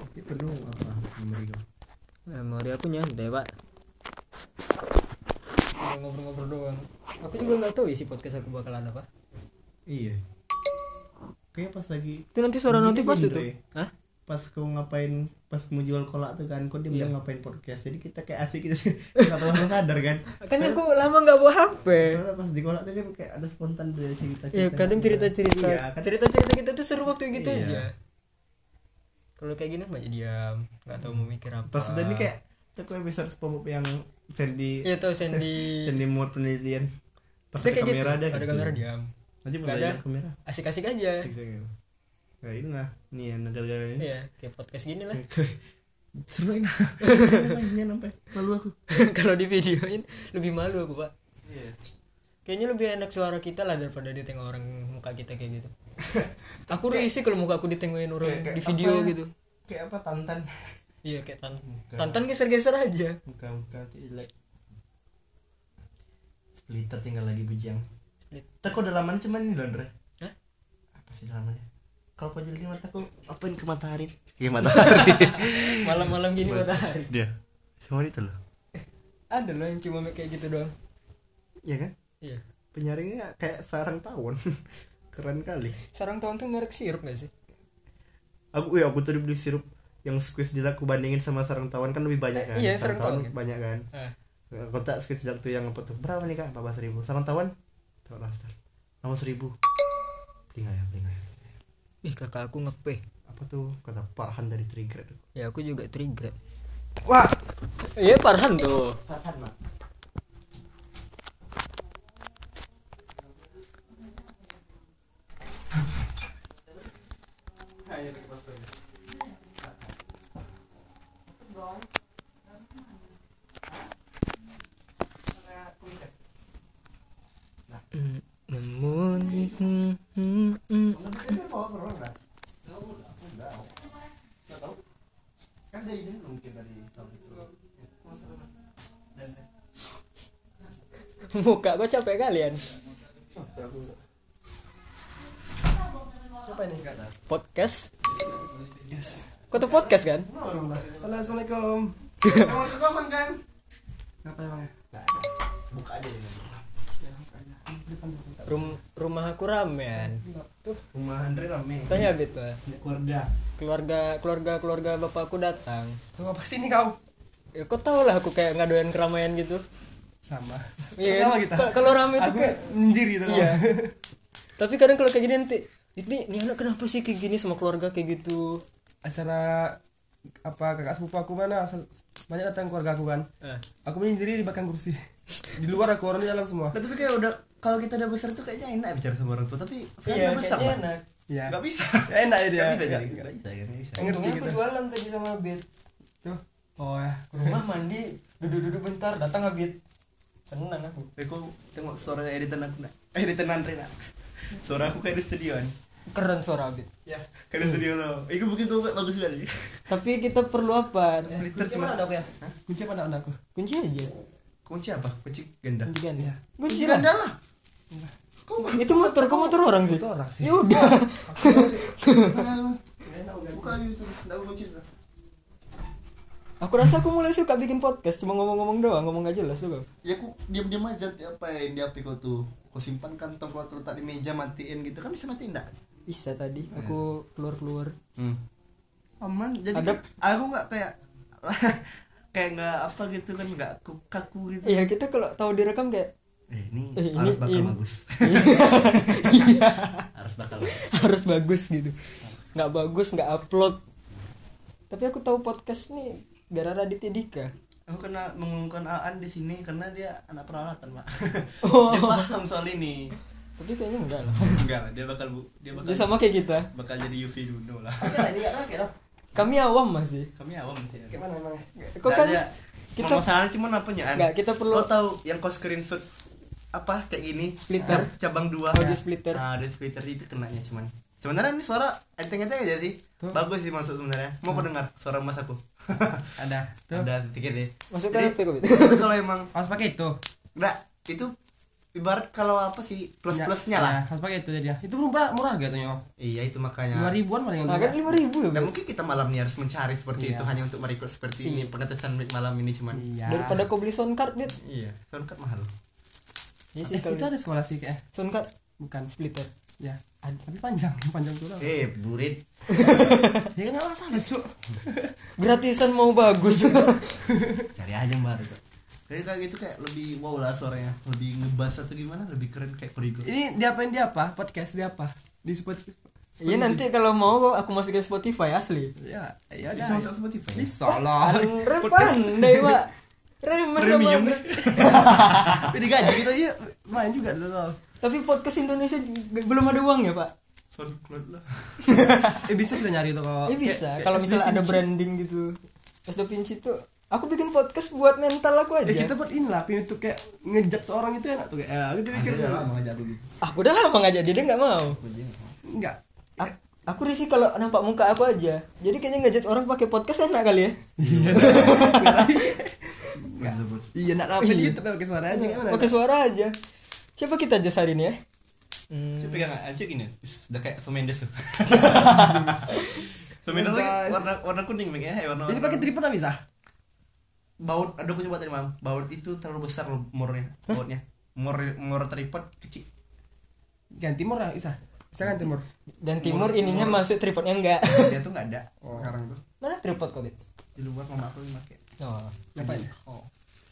Ini penuh apa memori kau? Memori aku nyantai pak, ngobrol-ngobrol doang. Aku juga nggak tahu isi podcast aku bakalan apa. Iya. Kayak pas lagi Itu nanti suara gini notif aja, pasti tuh. Andre. Hah? Pas kau ngapain, pas mau jual kolak tuh kan, kau dia Iya. bilang ngapain podcast. Jadi kita kayak asik gitu sih. Enggak terlalu sadar kan. Kan aku lama nggak bawa HP. Karena pas di kolak tuh kan kayak ada spontan dari cerita-cerita. Iya, kadang cerita-cerita. Iya, kan. Cerita-cerita kita tuh seru waktu gitu Iya. aja. Kalau kayak gini banyak diam, nggak tahu mau mikir apa. Pas udah ini kayak aku episode SpongeBob yang Sandy Iya tuh Sandy. Sandy mode penelitian. Pas Itu ada kayak kamera gitu. ada Ada gitu. kamera diam. Nanti pas Nggak ada. ada kamera. Asik-asik aja. Kayak ini lah. Nih ya negara-negara ini. Iya, kayak podcast gini lah. Seru enak. Namanya sampai malu aku. Kalau di videoin lebih malu aku pak. Iya. Kayaknya lebih enak suara kita lah daripada ditengok orang muka kita kayak gitu. Aku risih kalau muka aku ditengokin orang Kayak di video apa? gitu. Kayak apa Tantan? Iya kayak Tantan geser-geser aja. Muka jelek. Splitter tinggal lagi bujang. Split. Tako udah lama cuman ini loh Andre. Hah? Apa sih namanya? Kalau kau jelekin mataku, apain ke matahari? Iya matahari. Malam-malam gini matahari. Dia. Semua itu loh. Ada loh yang cuma kayak gitu doang. Iya kan? Iya. Penyaringnya kayak sarang tawon. Keren kali. Sarang tawon tuh merek sirup gak sih? Aku tadi beli sirup yang squeeze jelak aku bandingin sama sarang tawon kan lebih banyak kan. Iya, sarang tawon kan? banyak kan. Kotak squeeze jelak tuh yang apa tuh? Berapa nih Kak? 14.000. Sarang tawon? Coba daftar. 16.000. Beli nggak ya? Ih kakak aku ngepeh. Apa tuh? Kata Farhan dari Trigger. Ya aku juga trigger. Wah, Iya Farhan tuh. Farhan mah. Namun Kan ada izin mungkin dari tahun itu. muka kok capek kalian. Siapa ini kata? Podcast. Yes. Kau tuh podcast kan? Halo, assalamualaikum. Assalamualaikum kan? Apa emangnya? Buka aja ini. Rumah aku ramean. Tuh, rumah Andre rame. Tanya Abid pak. Keluarga. Keluarga bapakku datang. Tuh apa sih ini kau? Ya kau tau lah aku kayak nggak doyan keramaian gitu. Sama. Iya Sama kan? kita. Kalau rame tuh Aku kayak nyindir gitu. iya. Tapi kadang kalau kayak gini nanti ini anak kenapa sih kayak gini sama keluarga kayak gitu? Acara apa kakak sepupu aku mana banyak datang keluarga aku kan. Aku menyendiri di belakang kursi. Di luar aku orang di dalam semua. Nah, tapi kayak udah kalau kita udah besar tuh kayaknya enak bicara sama orang tua, tapi Iya, udah besar kayaknya Pak. enak. Iya. Nggak bisa. Enak ya dia. Nggak bisa jadi. Nggak- Nggak bisa. Ngerti Untungnya aku gitu. jualan tadi sama Abid. Tuh. Oh ya. Ke rumah mandi, duduk-duduk bentar, datang Abid. Senang aku. Kok tengok suaranya editan aku nak. Editan Andre nak. Suara aku kayak di studioan. Keren suara Abid. Ya, kayak di studio lo. Itu mungkin tuh bagus sekali. Tapi kita perlu apa? Splitter Kunci cuma mana ada aku ya? Kunci apa ada aku? Kunci aja. kunci apa? Kunci ganda. Kunci kan ya. Kunci ganda lah. Itu motor, kok motor orang sih? Itu orang sih. Ya udah. Buka lagi itu. Enggak kunci sudah. Aku rasa aku mulai suka bikin podcast, cuma ngomong-ngomong doang, ngomong gak jelas tuh. Ya aku diam-diam aja apa yang di HP kau tuh. Kau simpan kantong kau letak di meja matiin gitu kan bisa matiin enggak? Bisa tadi aku keluar-keluar. Aman. Jadi Ada- aku enggak kayak kayak enggak apa gitu kan enggak kaku gitu. Iya, kita kalau tahu direkam kayak Ini ini- harus bakal ini- bagus. iya, Harus bakal bagus. harus bagus gitu. Nggak bagus, nggak upload. Tapi aku tahu podcast nih gara-gara Raditya Dika. Aku kena mengumumkan Aan di sini karena dia anak peralatan, Pak. Oh. Dia paham soal ini. Tapi kayaknya enggak lah. Enggak, dia bakal Dia sama kayak kita. bakal jadi UV dulu lah. Oke lah, dia oke lah. Kami awam masih. Kami awam sih. Kayak mana emangnya? Kok kan kita kita masalah cuman apanya An? enggak, kita perlu Lo tahu yang kau screenshot apa kayak gini Splitter. cabang 2 Audio splitter. audio splitter itu kenanya cuman sebenarnya ini suara enteng-enteng aja sih. Bagus sih masuk sebenarnya. Mau kau dengar suara mas aku? Ada. Tuh. Ada sedikit ya. masuk ke Jadi- HP kok. Tapi kalau emang Harus pakai itu. enggak itu ibarat kalau apa sih plus-plusnya lah. harus pakai itu jadinya. Itu murah katanya. Iya itu makanya 5.000-an paling. Nah, kan 5.000 ya. dan mungkin kita malam ini harus mencari seperti itu hanya untuk merecord seperti ini pengetesan mic malam ini cuman. Iya. Daripada kau beli sound card, Dit. Iya, soundcard mahal. Iya sih kalau Itu ada sekolah sih kayak. sound card Bukan splitter. Ya, tapi panjang tuh lah. Burit. Ya kan enggak masalah, Cuk. Gratisan mau bagus. Cari aja yang baru kok. Kayak gitu kayak lebih wow lah suaranya, lebih ngebas atau gimana, lebih keren kayak Korigo. Ini diapain dia apa? Podcast dia apa? Di Spotify. Iya nanti kalau mau aku masukin Spotify asli. Ya Bisa masuk Spotify. Bisa lah. Andre pandai, Pak. Premium. Jadi gaji kita aja main juga tuh. Tapi podcast Indonesia belum ada uang ya, Pak? SoundCloud lah. Bisa kita nyari tuh kalau. Bisa. Kalau misalnya ada branding gitu. Es Da Vinci tuh aku bikin podcast buat mental aku aja. Kita buat ini lah, pengen tuh kayak ngejat seorang itu enak tuh kayak. Aku pikir Udah lama ngajak begitu. Aku udah lama ngajak dia nggak mau. enggak. Aku risih kalau nampak muka aku aja. Jadi kayaknya ngejat orang pakai podcast enak kali ya. Iya. Iya, nak apa di YouTube pakai suara aja kan. Pakai suara aja. Siapa kita aja hari ini ya? Coba pegang aja gini. Udah kayak Shawn Mendes tuh. Shawn Mendes warna kuning makanya warna. Ini pakai tripod enggak bisa? Baut, ada aku coba tadi Mam. Baut itu terlalu besar murnya. Bautnya. Mur tripod kecil. Ganti timur lah bisa. Bisa kan timur. Dan timur ininya masuk tripodnya enggak. Dia tuh enggak ada sekarang tuh. Mana tripod kau, Bit? Di luar mama aku yang pakai. Oh, Ngapain? Oh.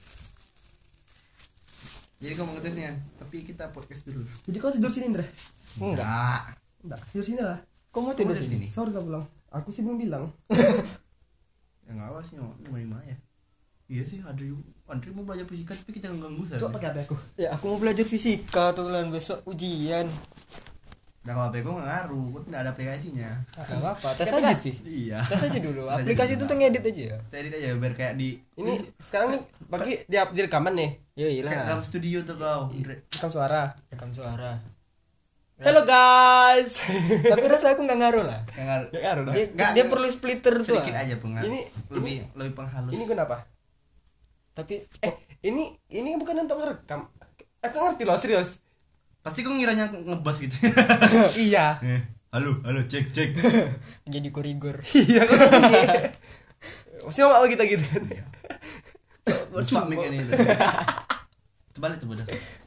Jadi kamu ngetesnya, tapi kita podcast dulu. Jadi kau tidur sini, Indra? Enggak. Enggak, tidur sini lah. kau mau tidur Kamu sini? Sorry kau pulang. Aku sih belum bilang. Ya enggak apa sih, mau ya. Iya sih, Andri mau belajar fisika tapi kita ganggu saya. Coba pakai HP aku. Ya, aku mau belajar fisika tuh bulan besok ujian. Nah kalau HP gue nggak ngaruh, gue tidak ada aplikasinya. Enggak apa-apa, tes Kan aja dikasih. Iya. Tes aja dulu. Tes aja Aplikasi dulu. itu tuh ngedit aja ya. Edit aja biar kayak di Ini sekarang nih pakai di rekaman nih. Ya kayak dalam iyalah. studio tuh kau. Andre. Rekam suara. Rekam suara. Hello guys. Tapi rasa aku nggak ngaruh lah. Yang ngaruh. Ya ngaruh dah. Dia perlu splitter tuh. Sedikit aja pengaruh. Ini- lebih penghalus. Ini kenapa? Tapi Ini bukan untuk ngerekam. Aku ngerti loh, serius. Pasti kau ngiranya ngebas gitu. Iya. Halo, cek. jadi korigor. Iya kan. Masih mau kita gitu. Lupa mic ini. Terbalik tuh bodoh.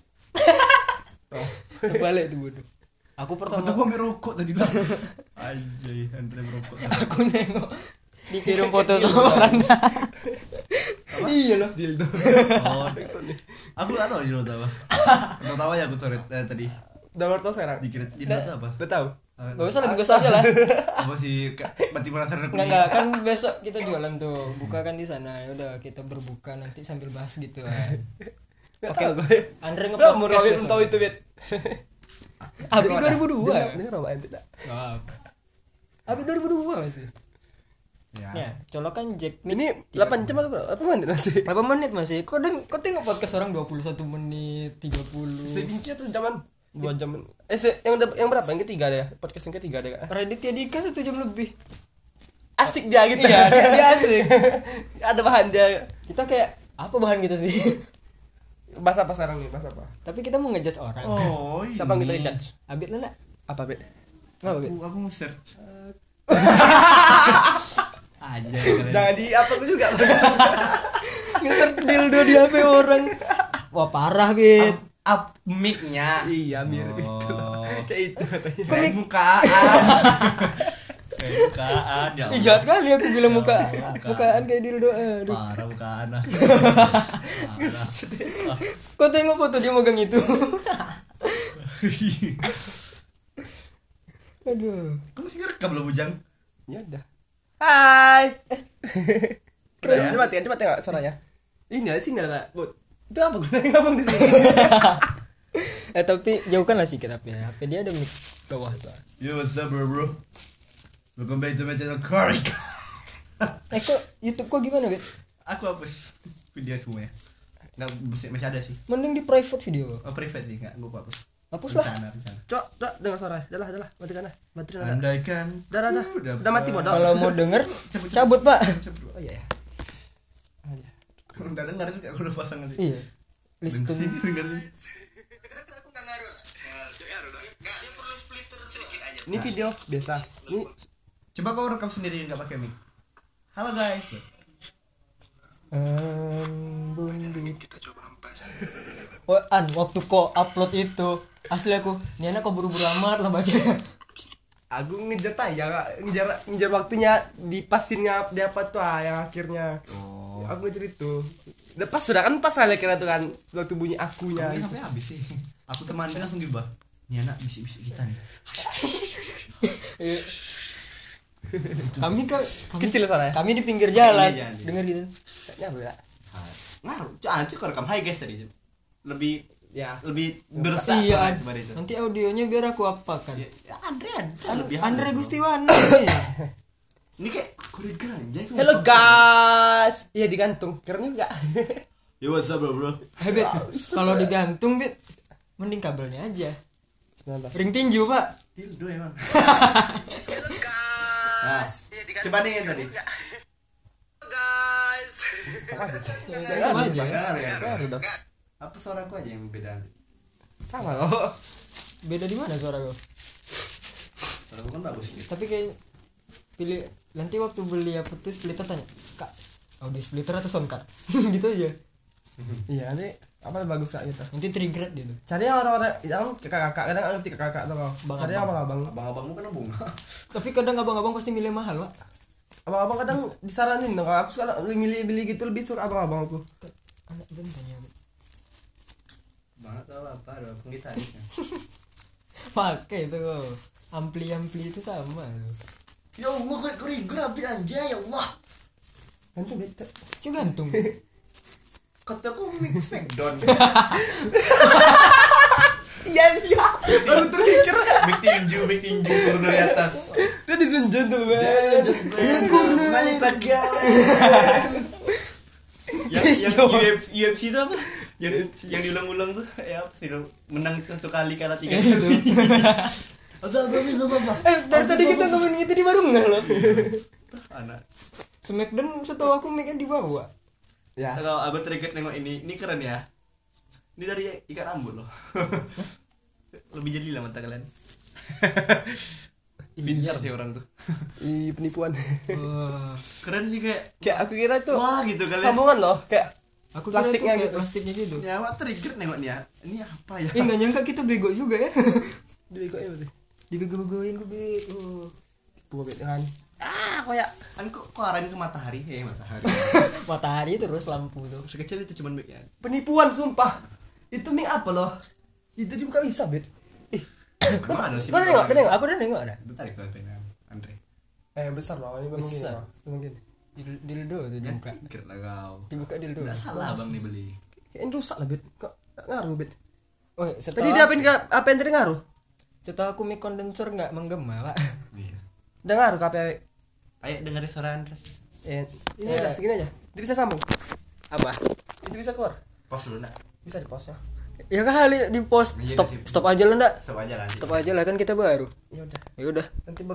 Terbalik tuh bodoh. Aku Aku pertama tuh gua merokok tadi lah. Anjay, Andre merokok. aku nengok dikirim foto sama Anda. Iya loh. Dildo. Oh, aku nggak tahu di apa. Nggak tahu aja aku sore tadi. Download tuh sekarang. Dikira di itu apa? Udah tahu. Gak usah lebih aja lah. Apa sih? Berarti penasaran aku. Enggak kan besok kita jualan tuh. Buka kan di sana. Ya udah kita berbuka nanti sambil bahas gitu kan. Enggak Oke. tahu gue. Andre Udah mau nge-podcast rawit besok. tahu itu, Bet. Abi 2002. Dengar apa ente tak? Wah. Abi 2002 masih. Ya. Ya, colokan Jack Mick. Ini 8 jam atau berapa? 8 menit masih? 8 menit masih. Kok tengok podcast orang 21 menit, 30. Sevinci tuh zaman 2 jam. Yang berapa? Yang ketiga deh. Podcast yang ketiga deh, Kak. Raditya Dika 1 jam lebih. Asik dia gitu. Iya, dia asik. Ada bahan dia. Kita kayak apa bahan kita sih? Bahas apa sekarang nih? Bahas apa? Tapi kita mau ngejudge orang. Oh, ini. Siapa yang kita judge? Abit lah nak. Apa, Bet? Enggak Abit. Aku mau search. Aja Jangan di apa aku juga. Nge-search dildo di HP orang. Wah, parah, Bit. Up mic-nya. Iya, mirip itu. Kayak itu katanya. Kayak mukaan. Kayak mukaan ya. Ih, jahat kali aku bilang Mukaan. mukaan kayak dildo. Aduh. Parah mukaan ah. Kok tengok foto dia megang itu? Aduh. Kamu masih ngerekam belum Bujang? Ya udah. Hai. Keren. Coba tengok suaranya. Ini ada sinyal enggak, Bud? Itu apa gunanya ngomong di sini? Tapi jauhkanlah sedikit HP. HP dia ada mic bawah tuh. Yo, what's up bro? Welcome back to my channel Korik. Kok YouTube kok gimana, Bet? Aku hapus video semua ya. Enggak masih ada sih. Mending di private video. Oh, private sih, enggak gua hapus. Hapus lah. Rencana. Coba dengar suara. Dah, matikan dah. Baterai dah. Andaikan. Dah. Udah mati bodoh. Kalau mau denger cabut, Pak. Oh iya ya. Udah dengar juga aku udah pasang nanti. Iya. Listen. Dengar sih. Ini video biasa. Ini Coba kau rekam sendiri nggak pakai mic. Halo guys. Waktu kau upload itu asli aku ini anak kau buru-buru amat lah baca. aku ngejar tayang, ngejar waktunya dipasin ngap di apa tuh yang akhirnya. Aku ngejar itu. Udah pas sudah kan pas saya kira tuh kan waktu bunyi akunya. Kamu sampai habis sih. Aku teman dia langsung diubah. Ini anak bisik-bisik kita nih. kami Kecil suaranya. kami di pinggir jalan Iya, jangan. denger gitu. Kayaknya beda. Ngaruh. Anjir kau rekam hi guys tadi. Lebih Ya. bersah Iya, daripada itu. nanti audionya biar aku apakan. Ya, lebih Andre halus, bro. Gustiwana nih. Ini kayak kuriga anjay. Hello guys. Iya digantung. Keren juga. Yo what's up bro? Hebet. Kalau digantung, Bet, mending kabelnya aja. 19. Ring tinju, Pak. Dildo emang. Nah, coba nih yang tadi. Sama aja. Ngaruh ya. Baru dong. Apa suaraku aja yang beda? Sama loh. Beda di mana suara kau? Suaraku kan bagus gitu. Tapi kayak pilih nanti waktu beli apa tuh splitter tanya, "Kak, audio splitter atau sound card?" Gitu aja. Iya, nanti apa bagus Kak gitu. Nanti trigger dia tuh. Cari yang orang-orang yang kakak-kakak kadang ngerti kakak tuh kau. Bang, Cari yang abang-abang. Abang-abangmu kan bunga. Tapi kadang abang-abang pasti milih mahal, Pak. Abang-abang kadang disaranin dong. Aku sekarang milih gitu lebih suka abang-abang aku. Anak band tanya. Banget tahu apa ada penggitarisnya. Pakai itu kau. Ampli-ampli itu sama. Ya Allah, kuriga api anjay ya Allah. Nanti bete. Cuma gantung. Kataku mix smackdown. Iya iya. Baru terpikir. Big tinju turun dari atas. Dia disunjun tuh. Malipat yang UFC itu apa? Yang diulang-ulang tuh ya apa sih? Menang satu kali kalah 3 kali. Dari tadi kita ngomongin itu di warung enggak loh? Anak. Smackdown setahu aku mic-nya di bawah. Ya. Kalau aku teringat nengok ini keren ya. Ini dari ikat rambut loh. Lebih jeli lah mata kalian. Pintar sih orang tuh. Ih, penipuan. Wah. Keren sih kayak Kayak aku kira itu wah gitu kalian. sambungan loh, kayak Aku kira plastiknya itu kayak gitu. plastiknya gitu. Nyawa trigger nengok nih ya. Ini apa ya? Nggak nyangka kita bego juga ya. Dibegoin berarti. Dibego-begoin gue bego. Buat kan. Kayak Kan kok arahin ke matahari? Matahari. Matahari terus lampu tuh. Sekecil itu cuman mic ya. penipuan sumpah. Itu mic apa loh? Itu dibuka bisa, Bet. Emang ada sih. Kau udah nengok? Aku udah nengok ada. Itu tarik ke Andre. Besar lah, ini Besar. mungkin. Dildo tuh Ya, dibuka. pikir lah kau. Dibuka dildo. Enggak salah bang nih beli. Kayaknya rusak lah, Bet. Kok nggak ngaruh, Bet. Oh, Tadi dia apa yang tadi ngaruh? setelah aku mic kondensor nggak menggema, Pak. Iya. Udah ngaruh ke HP. Ayo dengerin suara Andres. Ini udah segini aja. Dia bisa sambung. Apa? Itu bisa keluar. Pos dulu nak. Bisa di pause ya. Ya kali di post. Iya, Stop sih. stop aja lah, Ndak. Stop aja lanjut. Stop aja lah kan kita baru. Ya udah. Ya udah. Nanti